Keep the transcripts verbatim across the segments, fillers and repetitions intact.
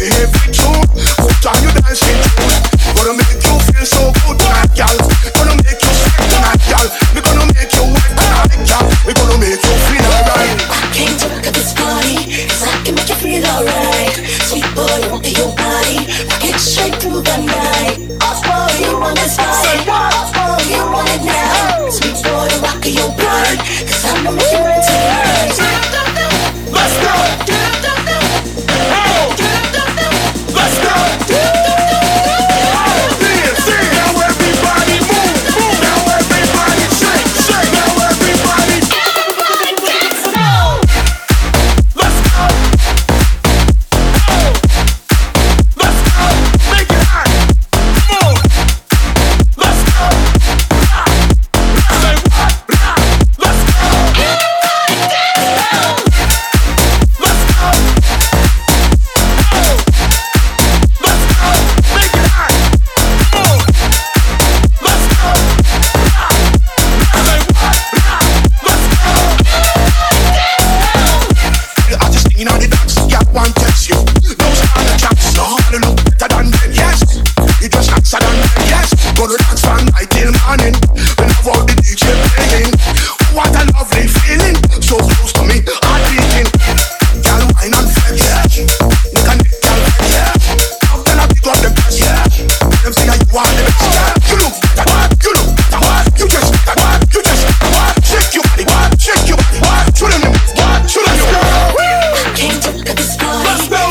every tune. Put on your dancing shoes. Gonna make you feel so good tonight, girl. Gonna make you sweat tonight, girl. We gonna make you wet tonight, girl. We gonna make you feel alright. I came to rock at this party, 'cause I can make you feel alright. Sweet boy, I want your body, rock it straight through the night. Oh boy, you want this body, oh boy, you want it now. Sweet boy, rock your body, 'cause I know you want it tonight. Let's go! Oh! Let's go!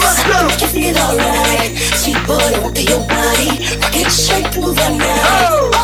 Sweet boy, I want your body, rock it straight through the night.